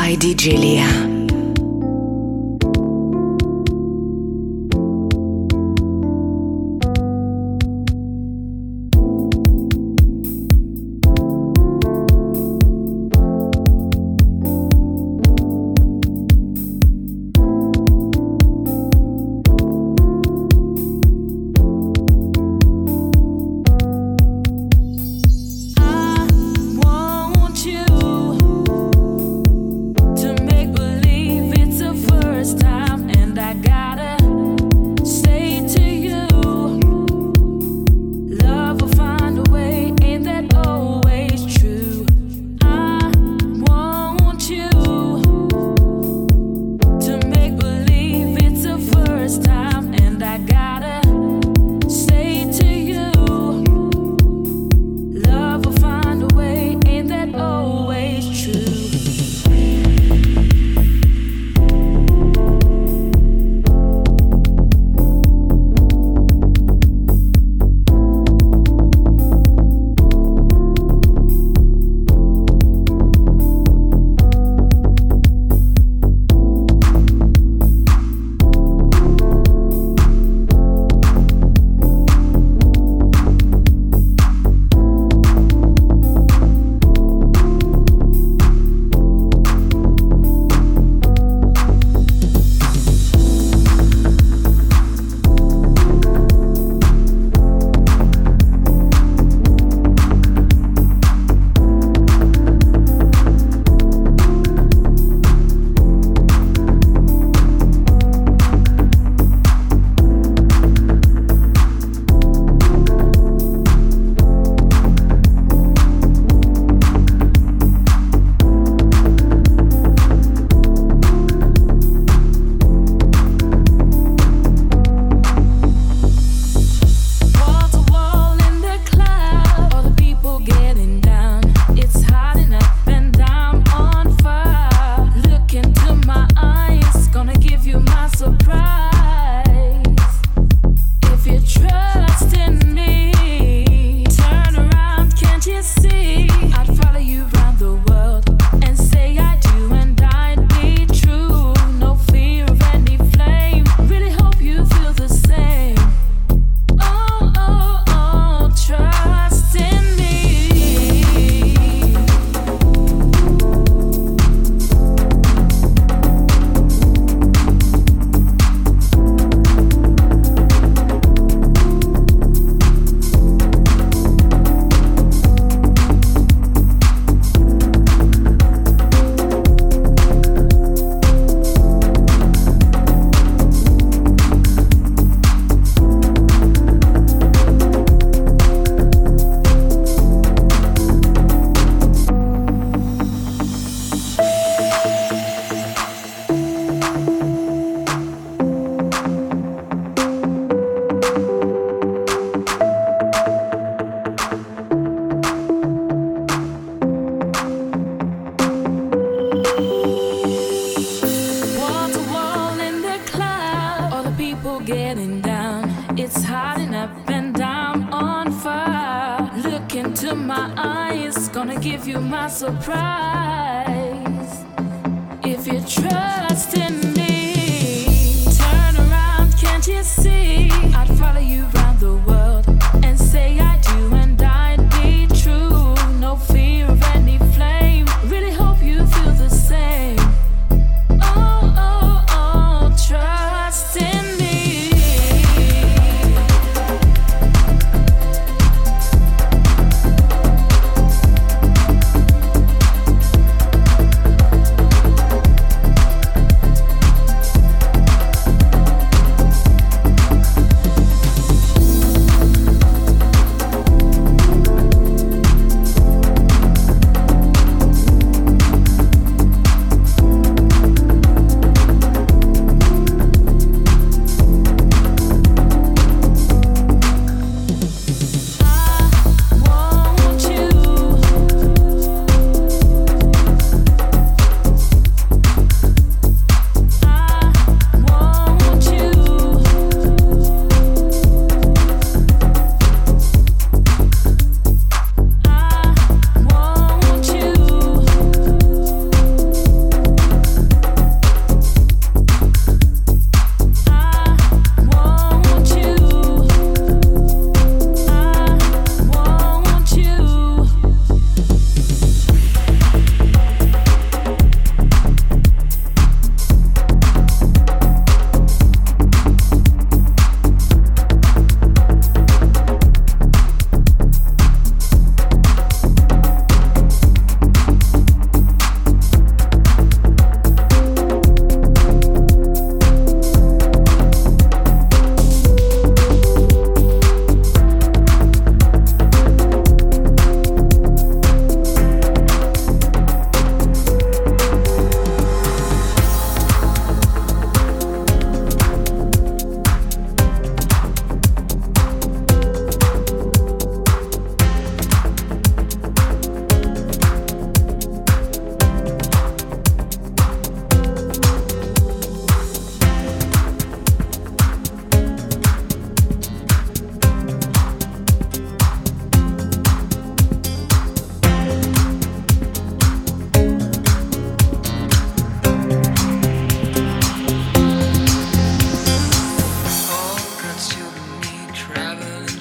by DJ Lia.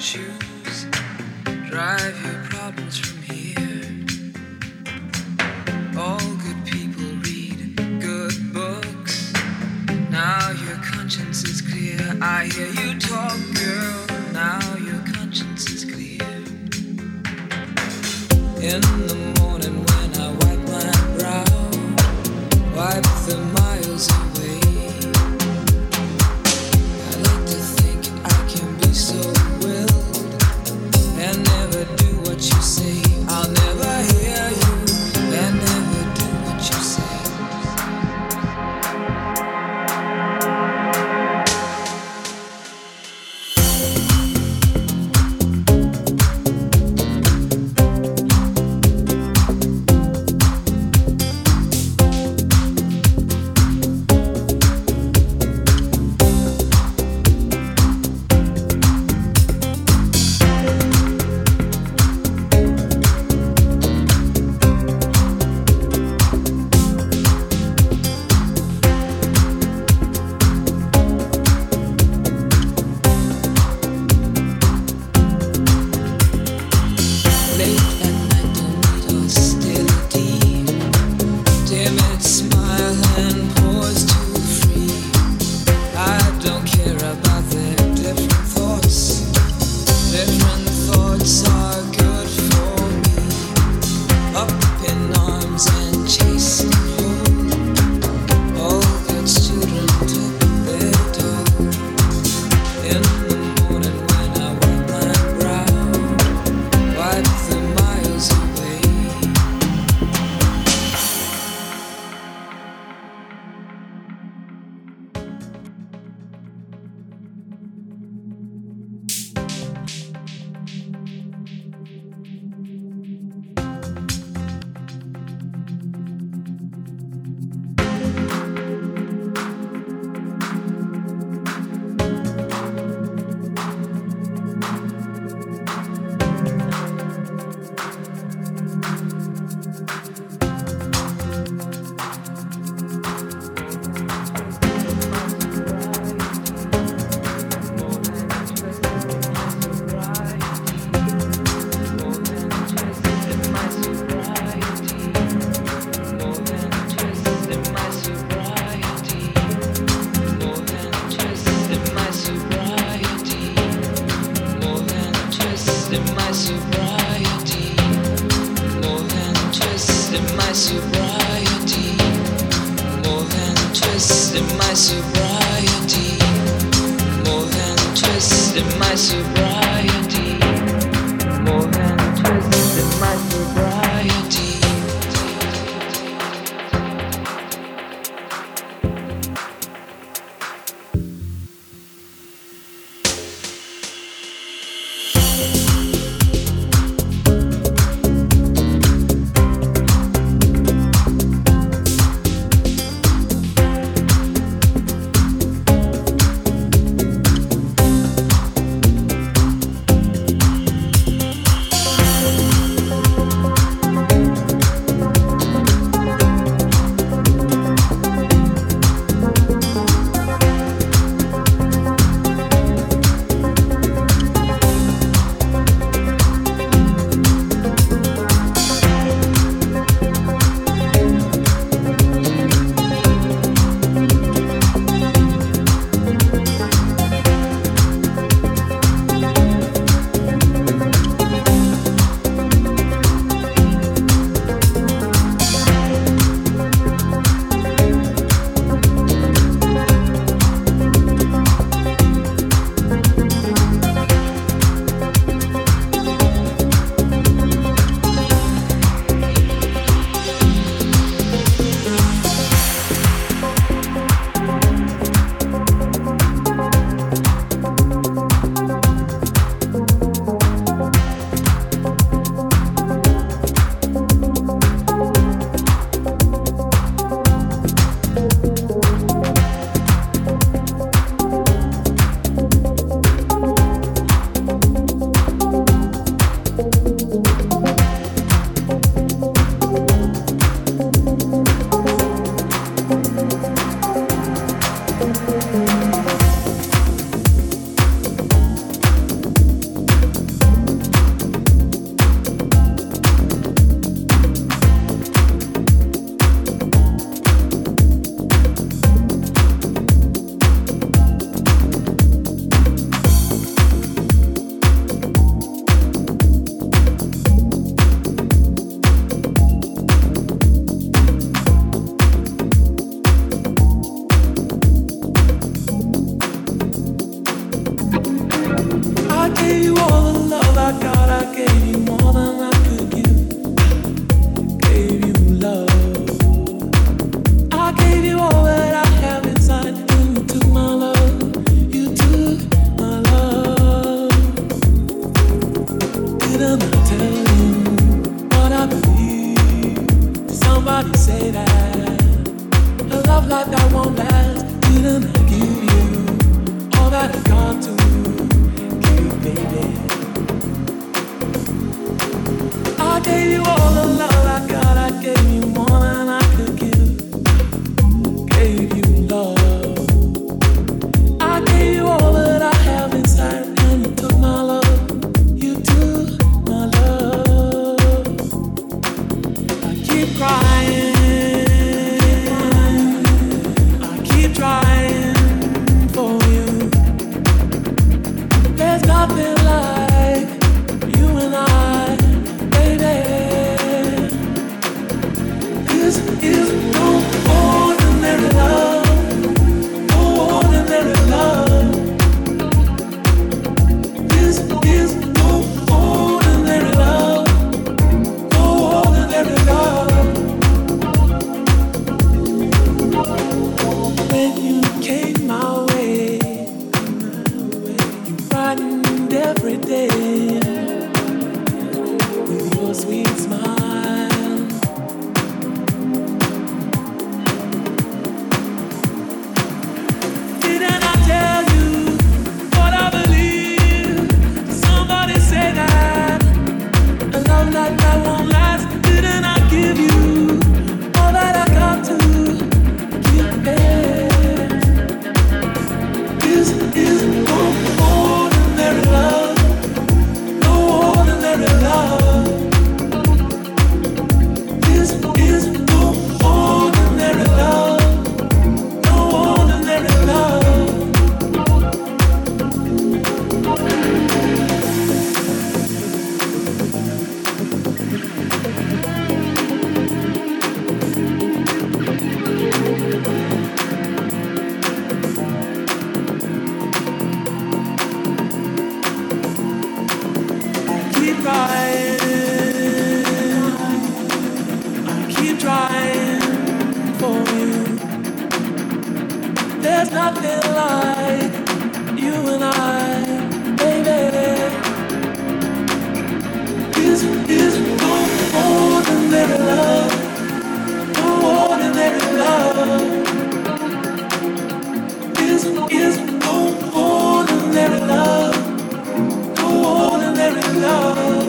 choose. Drive your problems from here. All good people read good books. Now your conscience is clear. I hear you talk, girl. Now your conscience is clear. In the morning when I wipe my brow, wipe the miles away. I like to think I can be so willed and never do what you say. I'll never hear you and never do what you say. every day with your sweet smile. Didn't I tell you what I believe? Somebody say that a love like that won't last. Didn't I give you all that I got to give back? This is no ordinary love, no ordinary love. This is no ordinary love, no ordinary love. Keep trying for you. There's nothing like you and I, baby. This is no ordinary love, no ordinary love. This is no ordinary love, no ordinary love.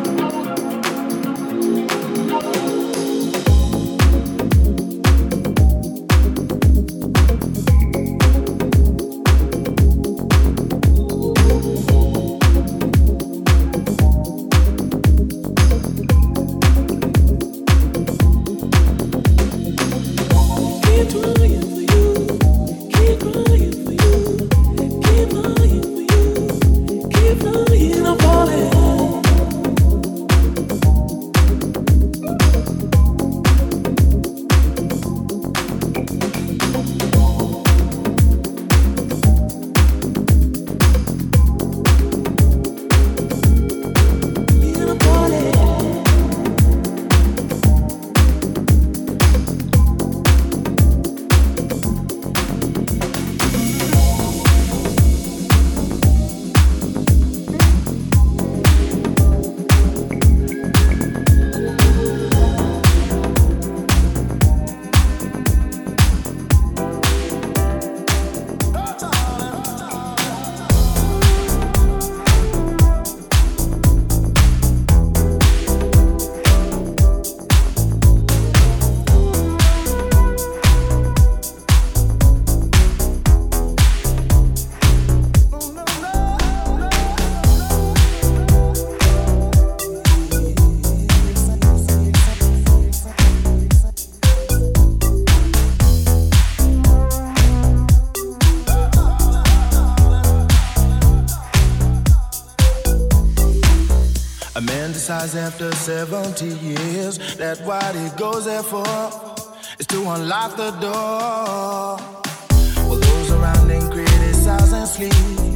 After 70 years, that what he goes there for is to unlock the door. While those around him criticize and sleep.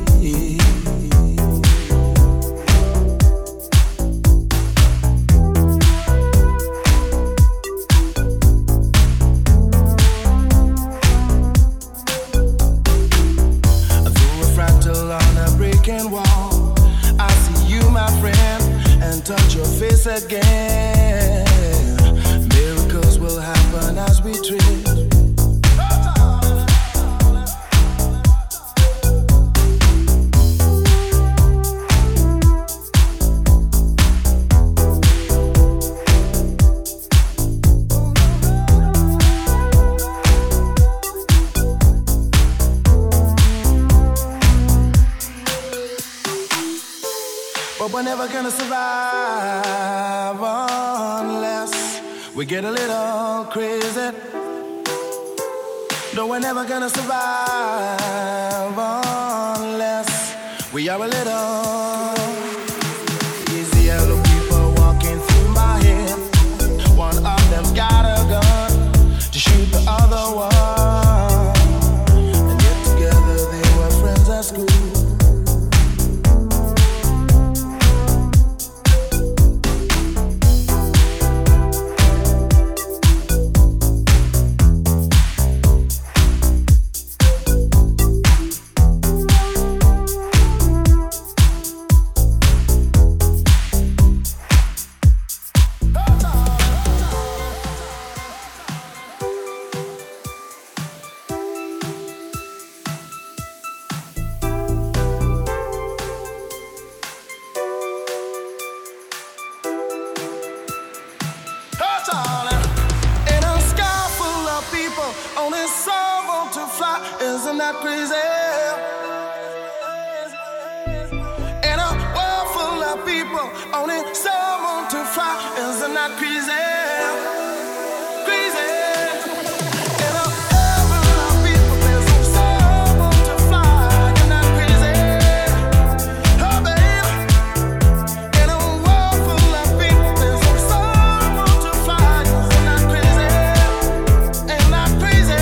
Through a fractal on a breaking wall, I see you, my friend, and touch your face again. Miracles will happen as we drift. But we're never gonna survive unless we get a little crazy. No, we're never gonna survive unless we are a little. These yellow people walking through my head. One of them's got a gun to shoot the other one. And yet together they were friends at school. not crazy. In a world full of people, only someone to fly. Is it not crazy? Crazy. In a world full of people, there's only someone to fly. You're not crazy. Oh, baby. In a world full of people, there's only someone to fly. Is it not crazy? Ain't not crazy.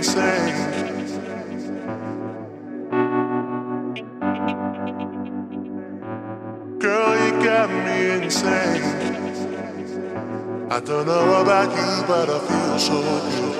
I don't know about you, but I feel so good.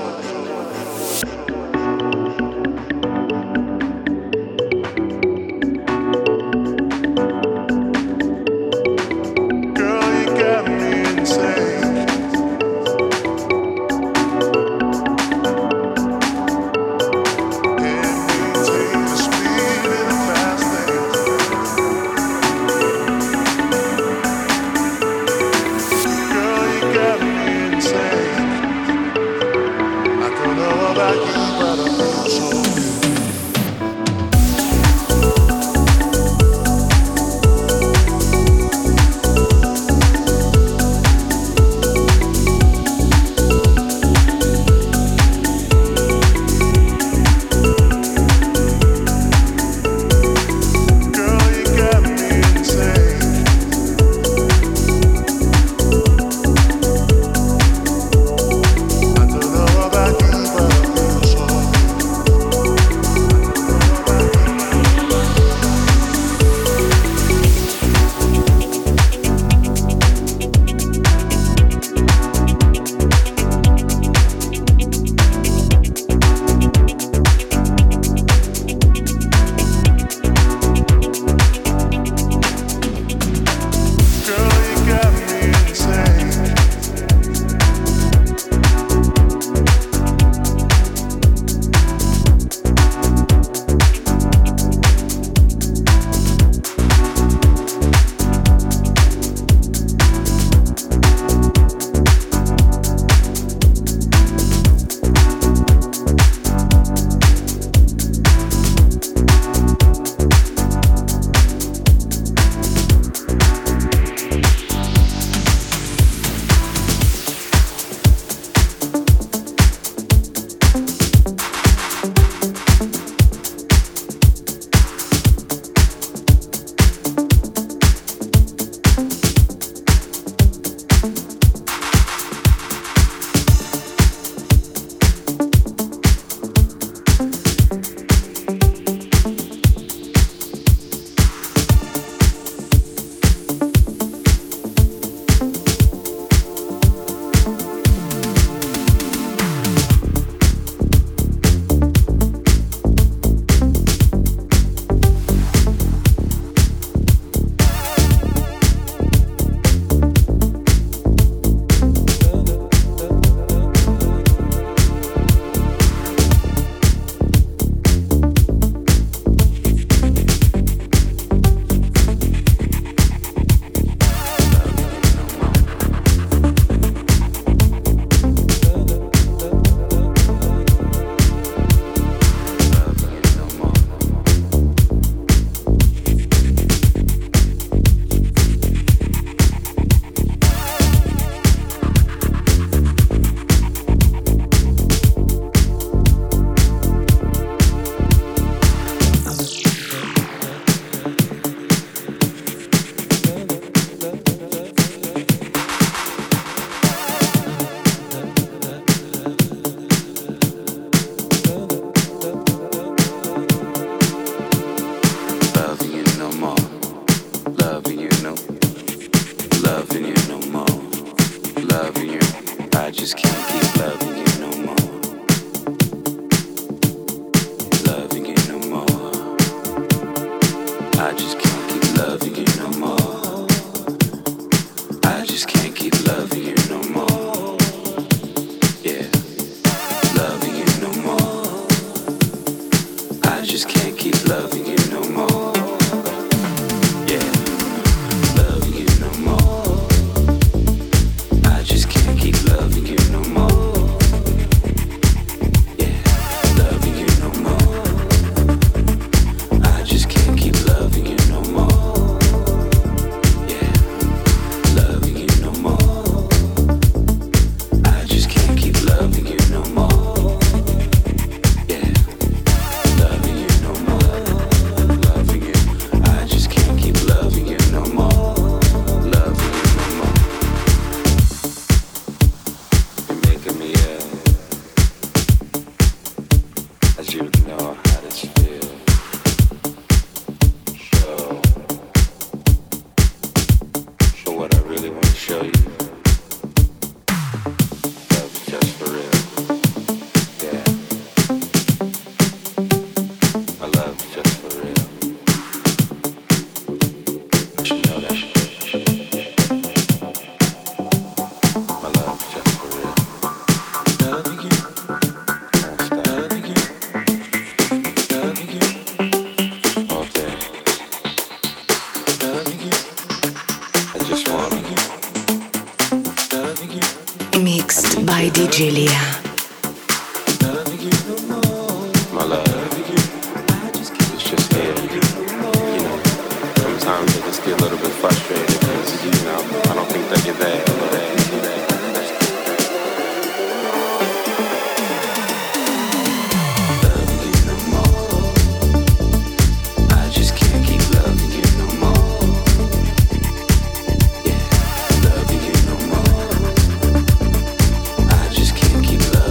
Keep love.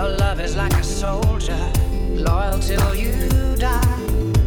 Your love is like a soldier, loyal till you die.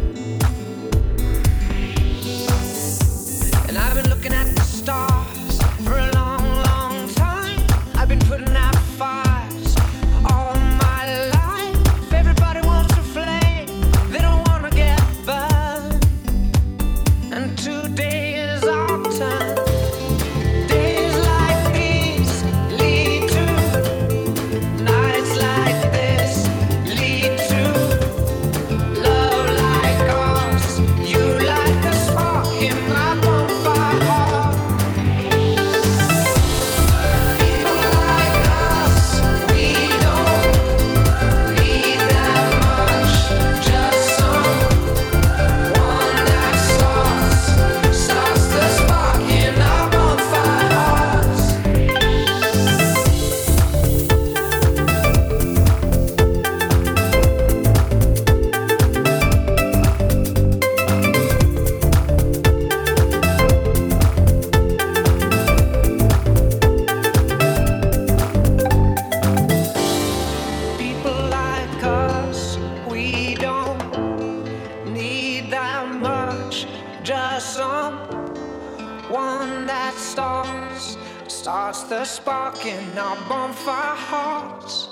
And I've been looking at the stars for a long, long time. I've been putting out fires all my life. Everybody wants a flame, they don't wanna get burned. And today is our turn. Days like these lead to nights like this, lead to love like ours. You like a spark in my bonfire heart. People like us, we don't need that much. Just someone that starts the spark in our bonfire hearts. People like us, we don't need that much. Just someone that starts the spark in our bonfire hearts.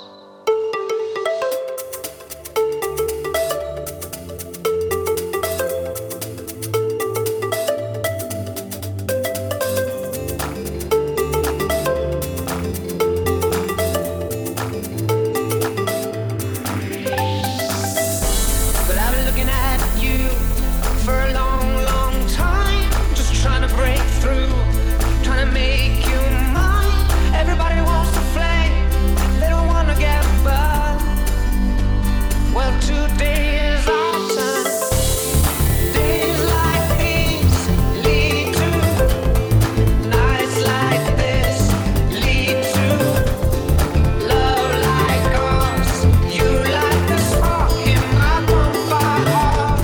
But I've been looking at you for a long, long time. Just trying to break through, trying to make you mine. Everybody wants to flame, they don't wanna get burned. Well, today is our turn. Days like these lead to nights like this, lead to love like ours. You like the spark in my bonfire heart.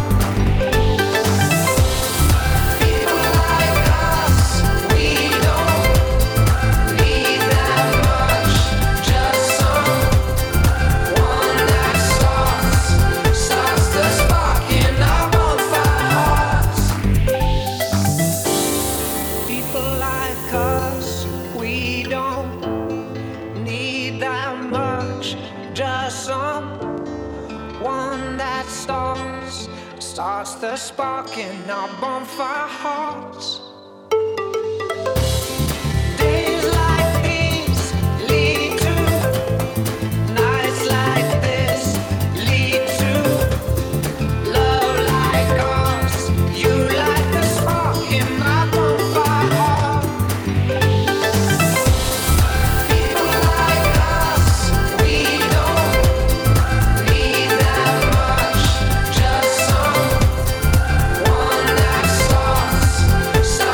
People like us, we don't need that much. Just someone that starts the spark in our bonfire hearts. People like us, we don't need that much. Just someone that starts the spark in our bonfire hearts. Days like these lead to nights like this, lead to love like ours. You like the spark in my bonfire heart. People like us, we don't need that much. Just someone that starts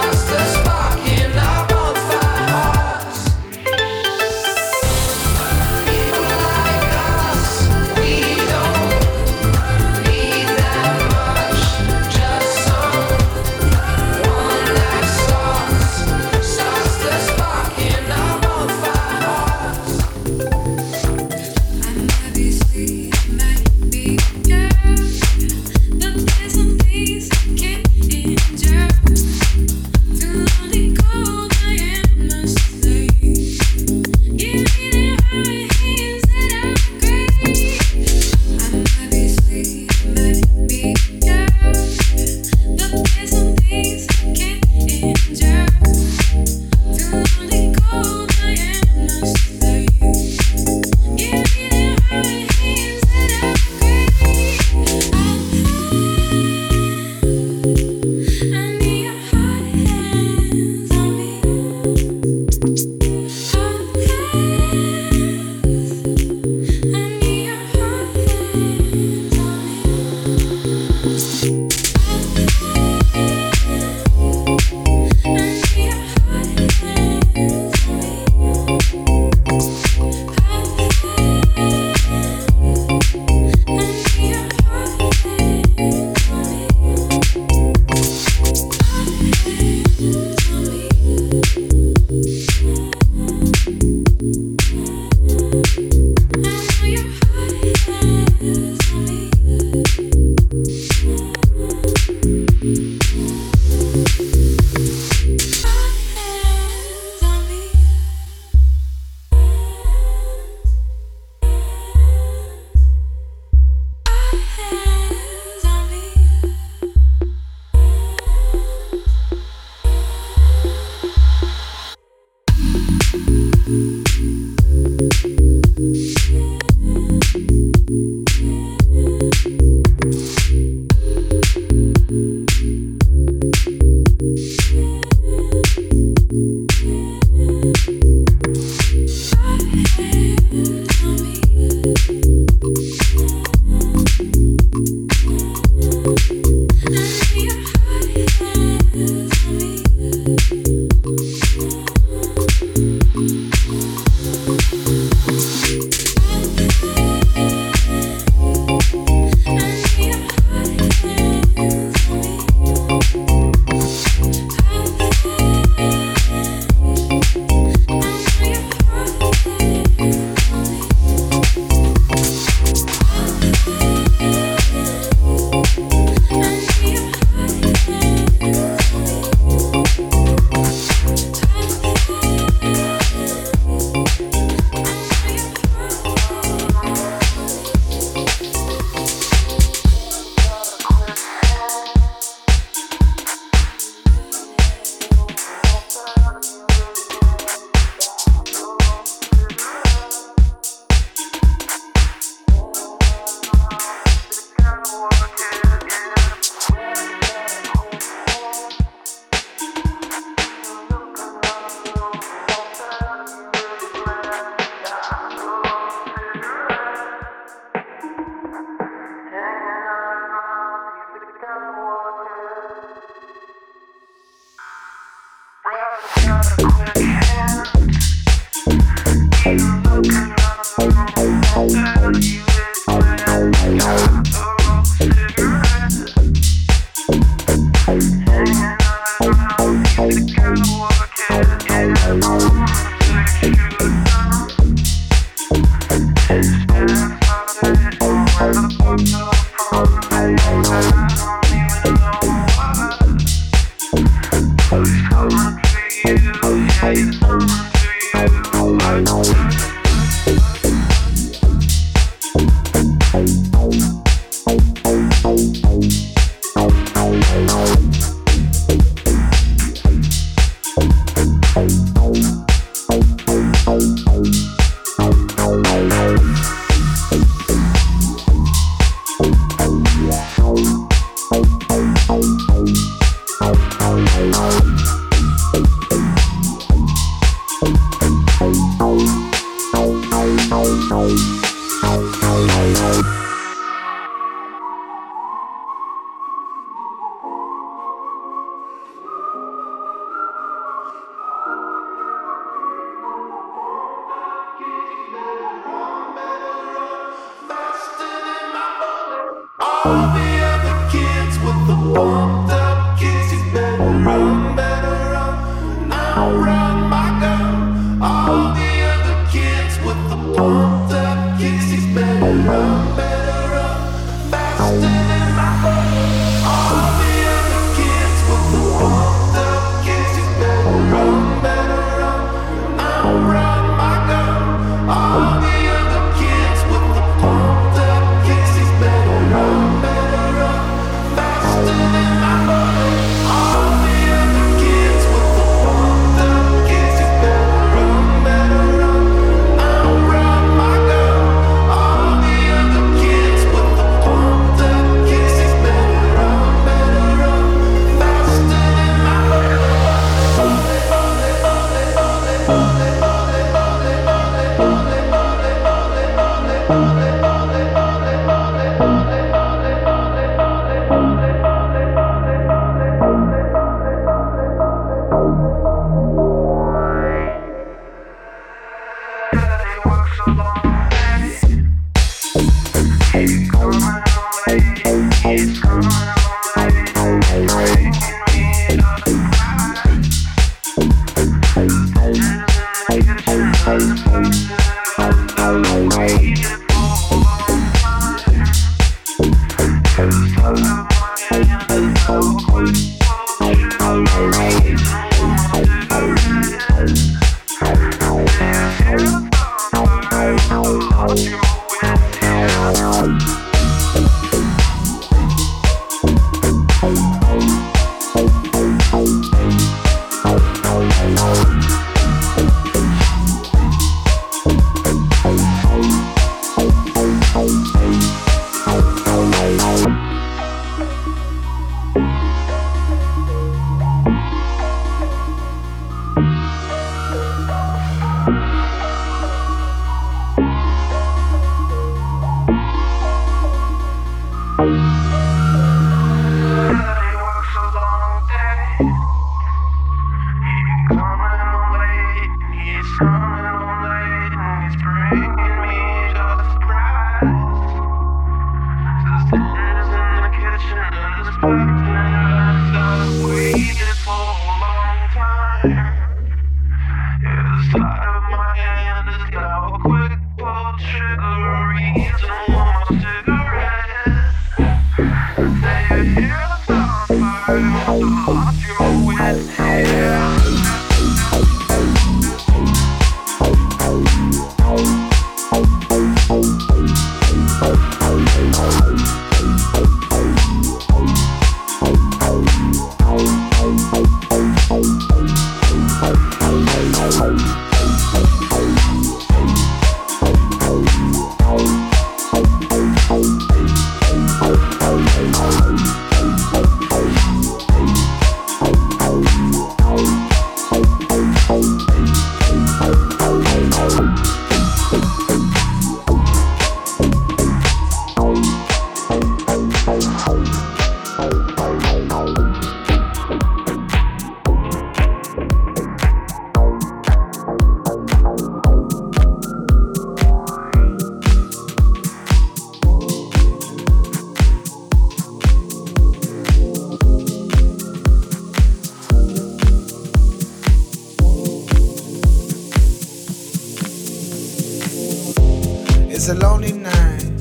It's a lonely night.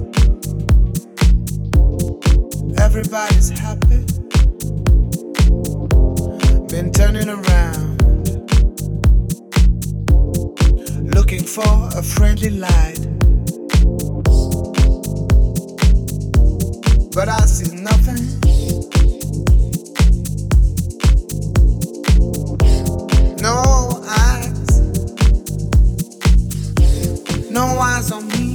Everybody's happy. Been turning around, looking for a friendly light. But I see nothing. No eyes. No eyes on me.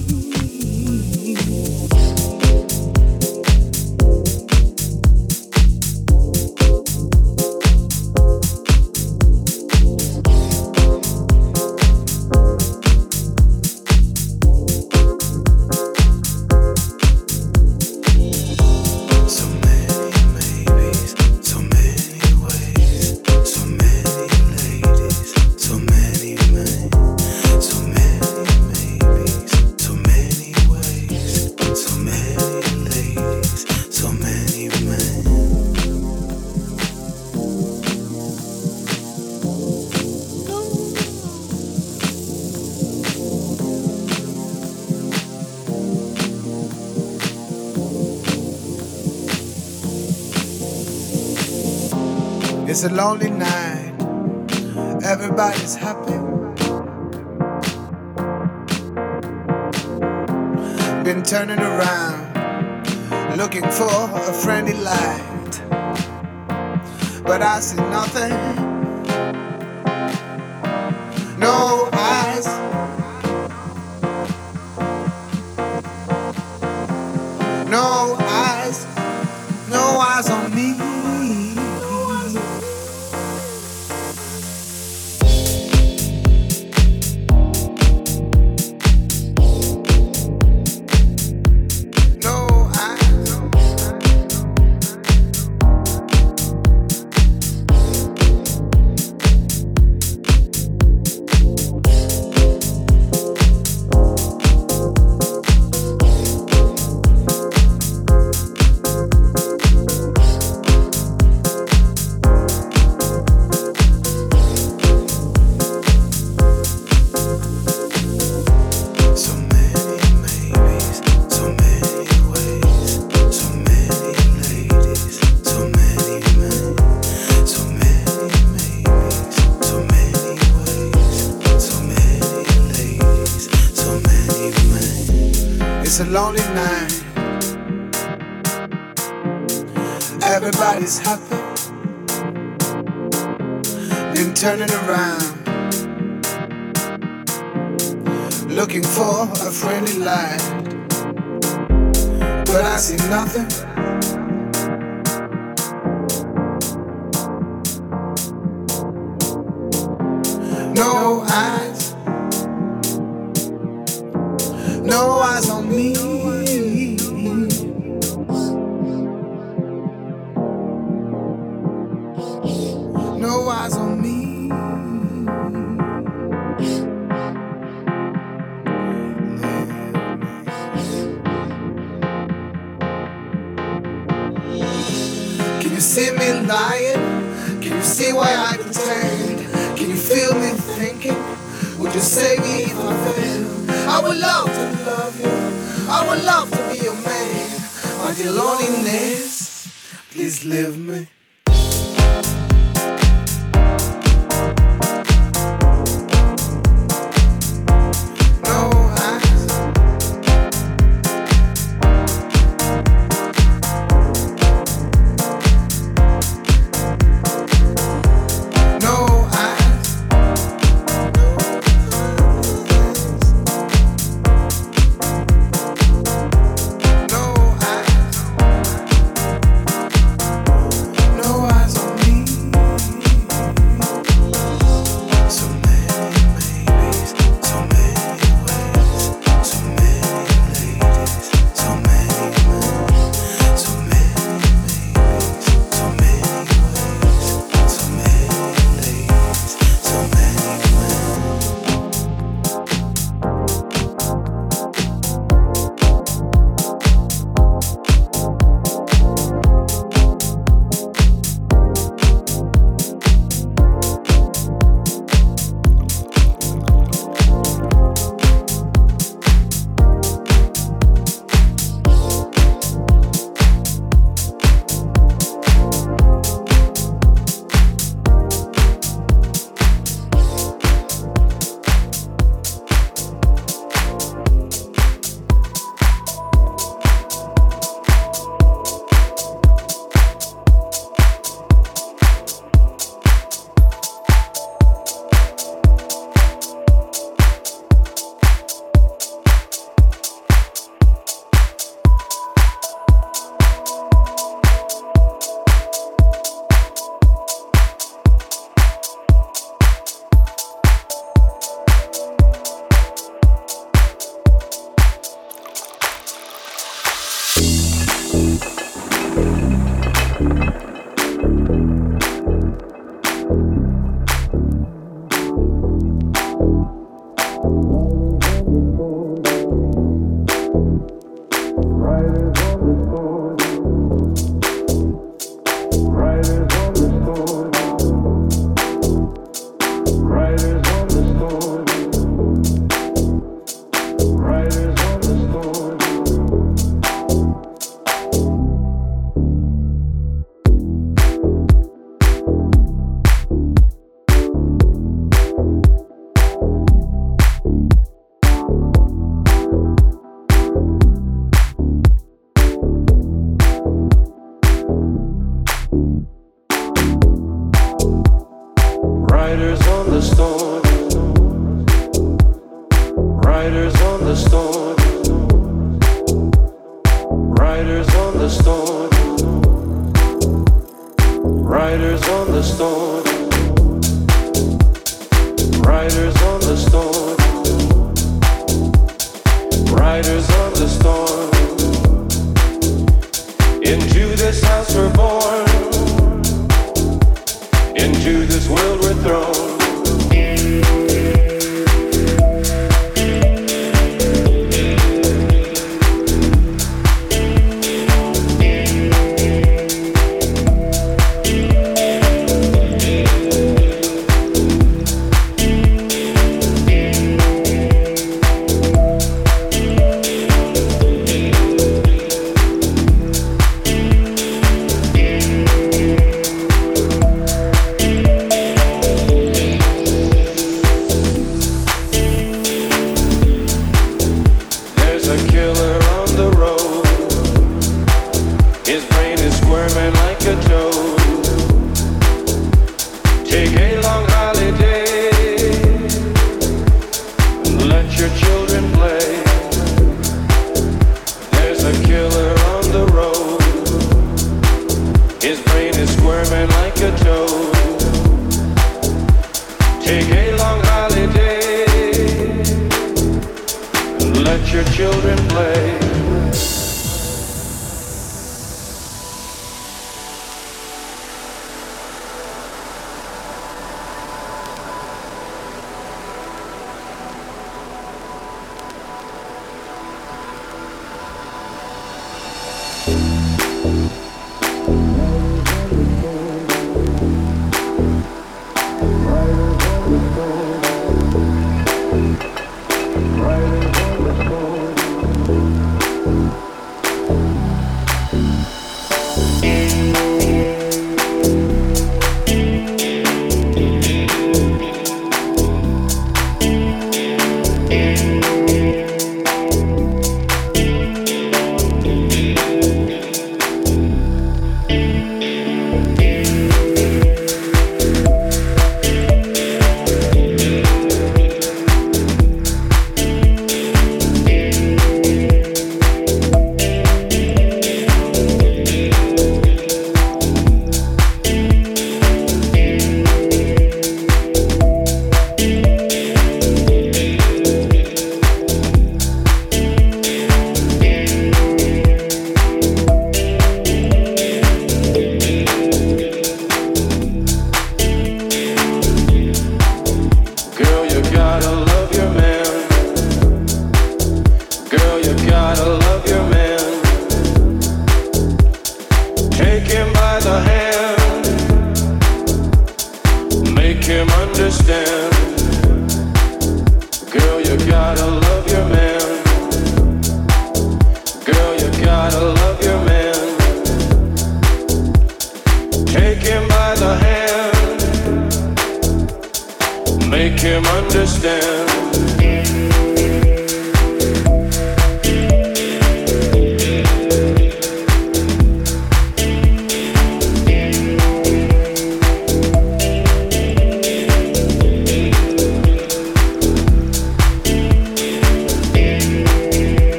It's a lonely night. Everybody's happy. Been turning around, looking for a friendly light. But I see nothing. No eyes. No eyes. No eyes on me. It's a lonely night. Everybody's happy. Been turning around, looking for a friendly light. But I see nothing. No eyes. No eyes on me. No eyes on me. Can you see me lying? Can you see why I pretend? Can you feel me thinking? Would you save me if I fail? I would love to love you. I would love to be your man. My dear loneliness, please leave me. Riders on the storm. Riders on the storm. Riders on the storm. Riders on the storm. Riders on the storm. Into this house we're born. Into this world we're thrown.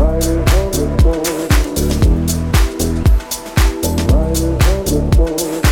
Riders on the storm.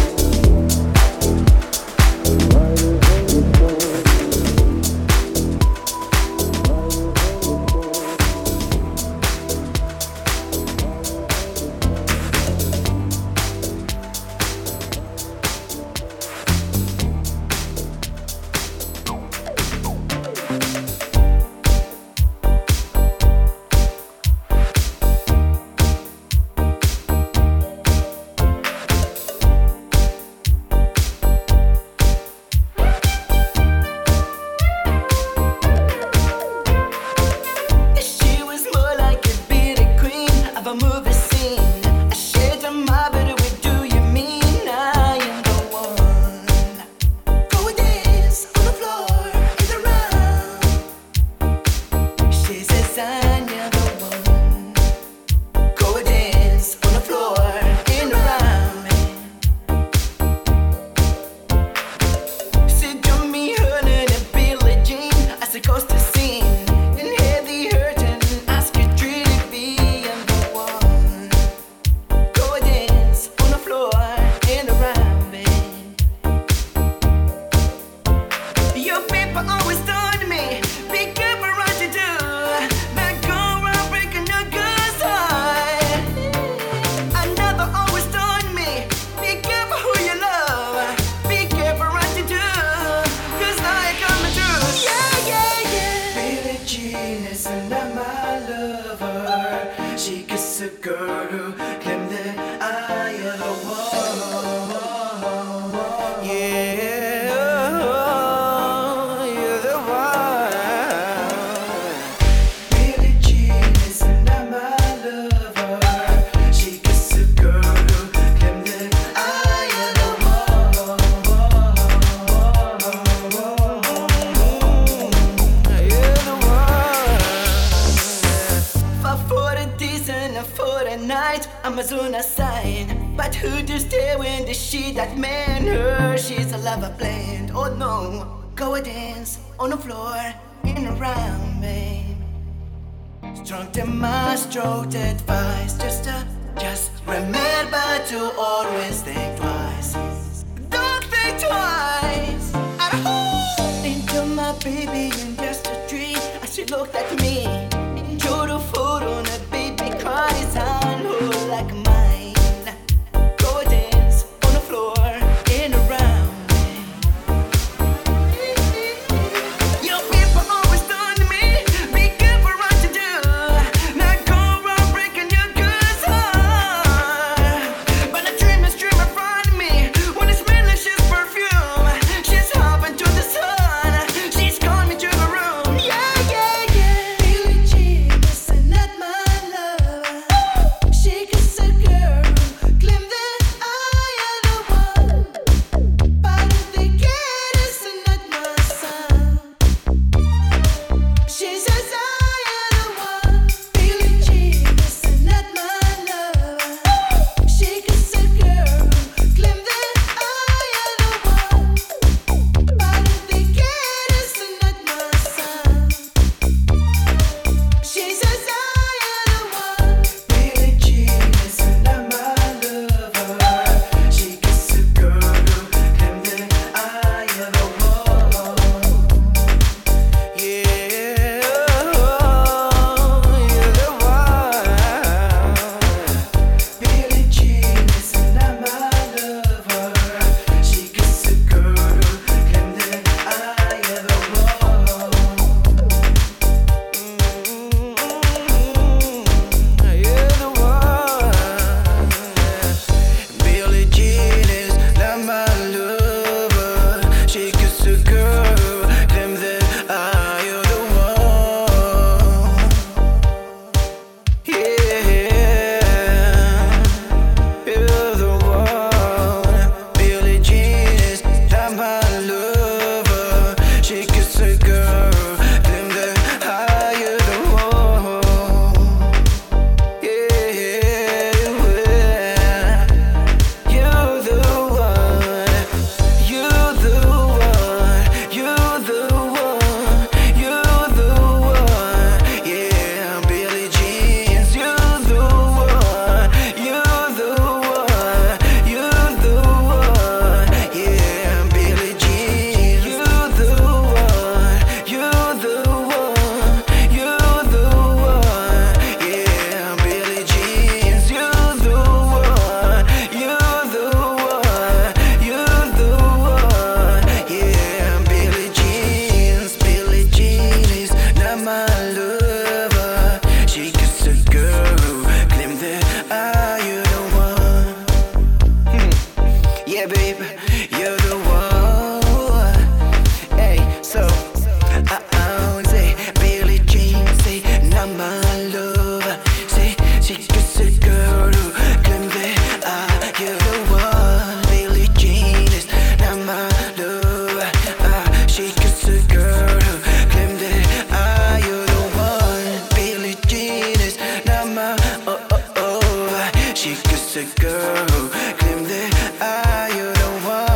Amazona sign, but who to stay when the she that man her? She's a lover blind. Oh no, go a dance on the floor in a round, babe. Strong to my stroked advice, just remember to always think twice. Don't think twice. Into my baby in just a dream, as she looked at me. Enjoy the food on a baby cries on her like mine. Go dance on the floor in a round. Your people always done to me. Be careful what you do. Not go around breaking your girl's heart. But a dream is dream in front of me. When it's malicious perfume, she's hopping to the sun. She's calling me to the room. Yeah, yeah, yeah. Billie Jean is not my lover. She kiss a girl who claim that I am the one. But if they get it's not my son. She says I am the one. Billie Jean is not my lover. She kiss a girl who claim that I am the one. But if they get it's not my son. She says I am the one. Billie Jean is not my lover. She kiss a girl who claim that I am the one. Yeah, you're the one. Billie Jean is not my lover. She kiss a girl who claim that I am the one. You're the one. Billie Jean is not my lover. She kiss a girl, claim that I am the one. Yeah, you're the one. Billie Jean is not my lover. She kiss a girl, claim that I am the one. Yeah, you're the one. You're the one. You're the one. You're the one. Yeah, Billie Jean, you're the one. You're the one. You're the one. Yeah, Billie Jean, you're the one. You're the one. You're the one. Yeah, Billie Jean, you're the one. You're the one. You're the one. Yeah, Billie Jean is not my lover. She kiss a girl who claim that I am the one. Yeah, babe, you're the one. Hey, so I say Billie Jean, say not my lover. Say she kiss a girl who claim that I am the one. Billie Jean is not my lover. She kiss a girl who claim that I am the one. Billie Jean is not my She kiss a girl who claim that I am the one.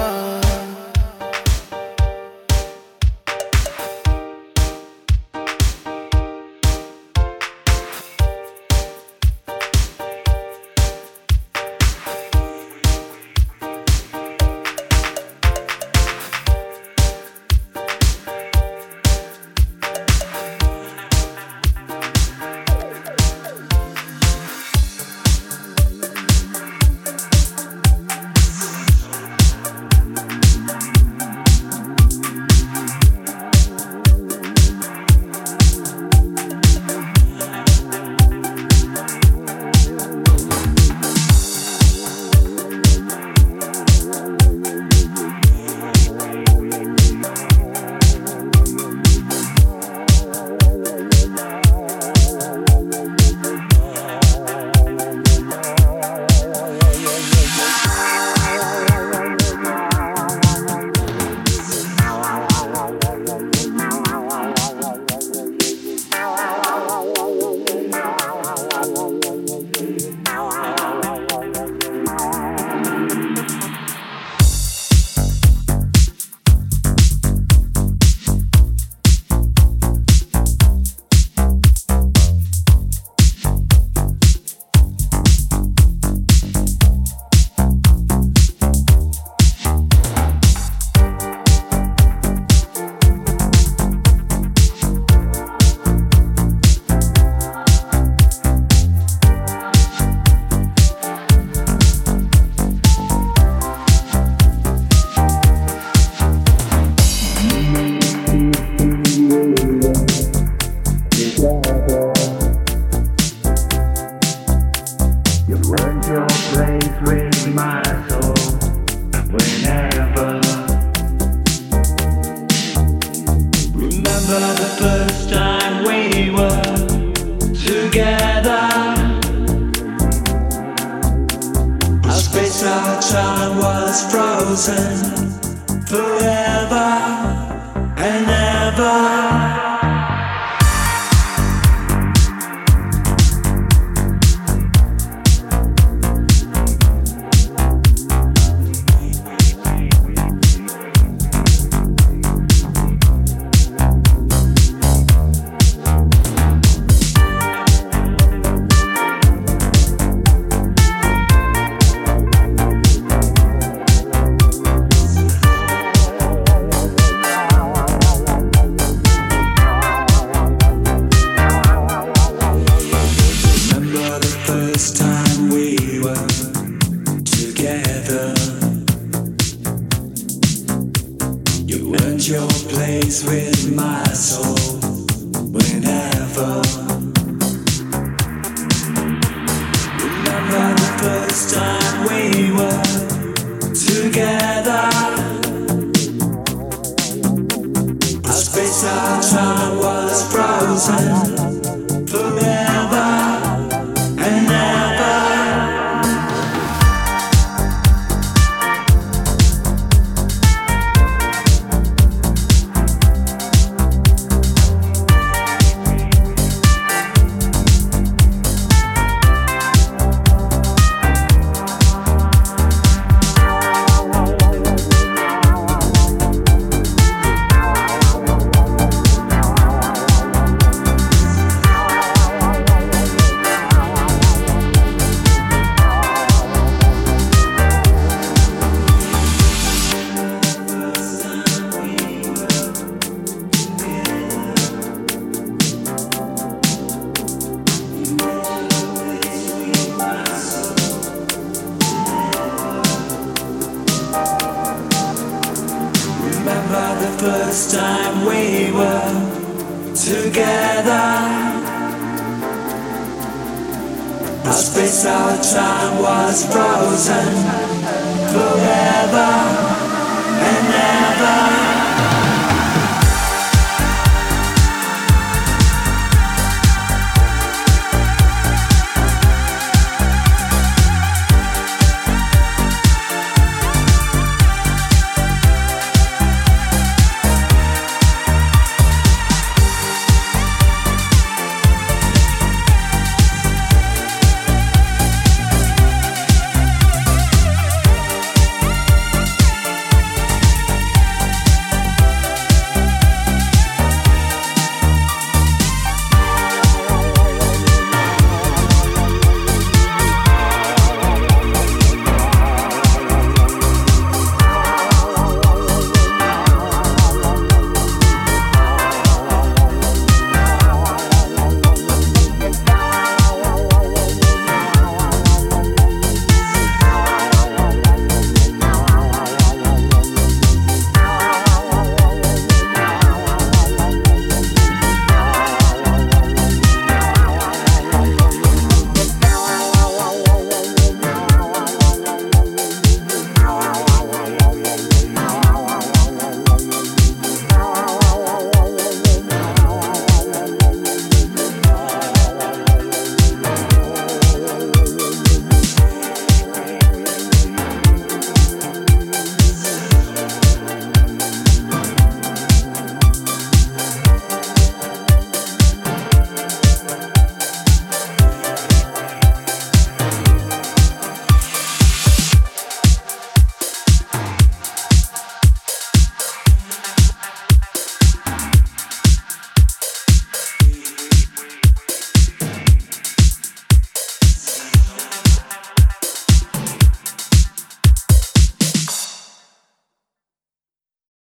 Our space, our time was frozen.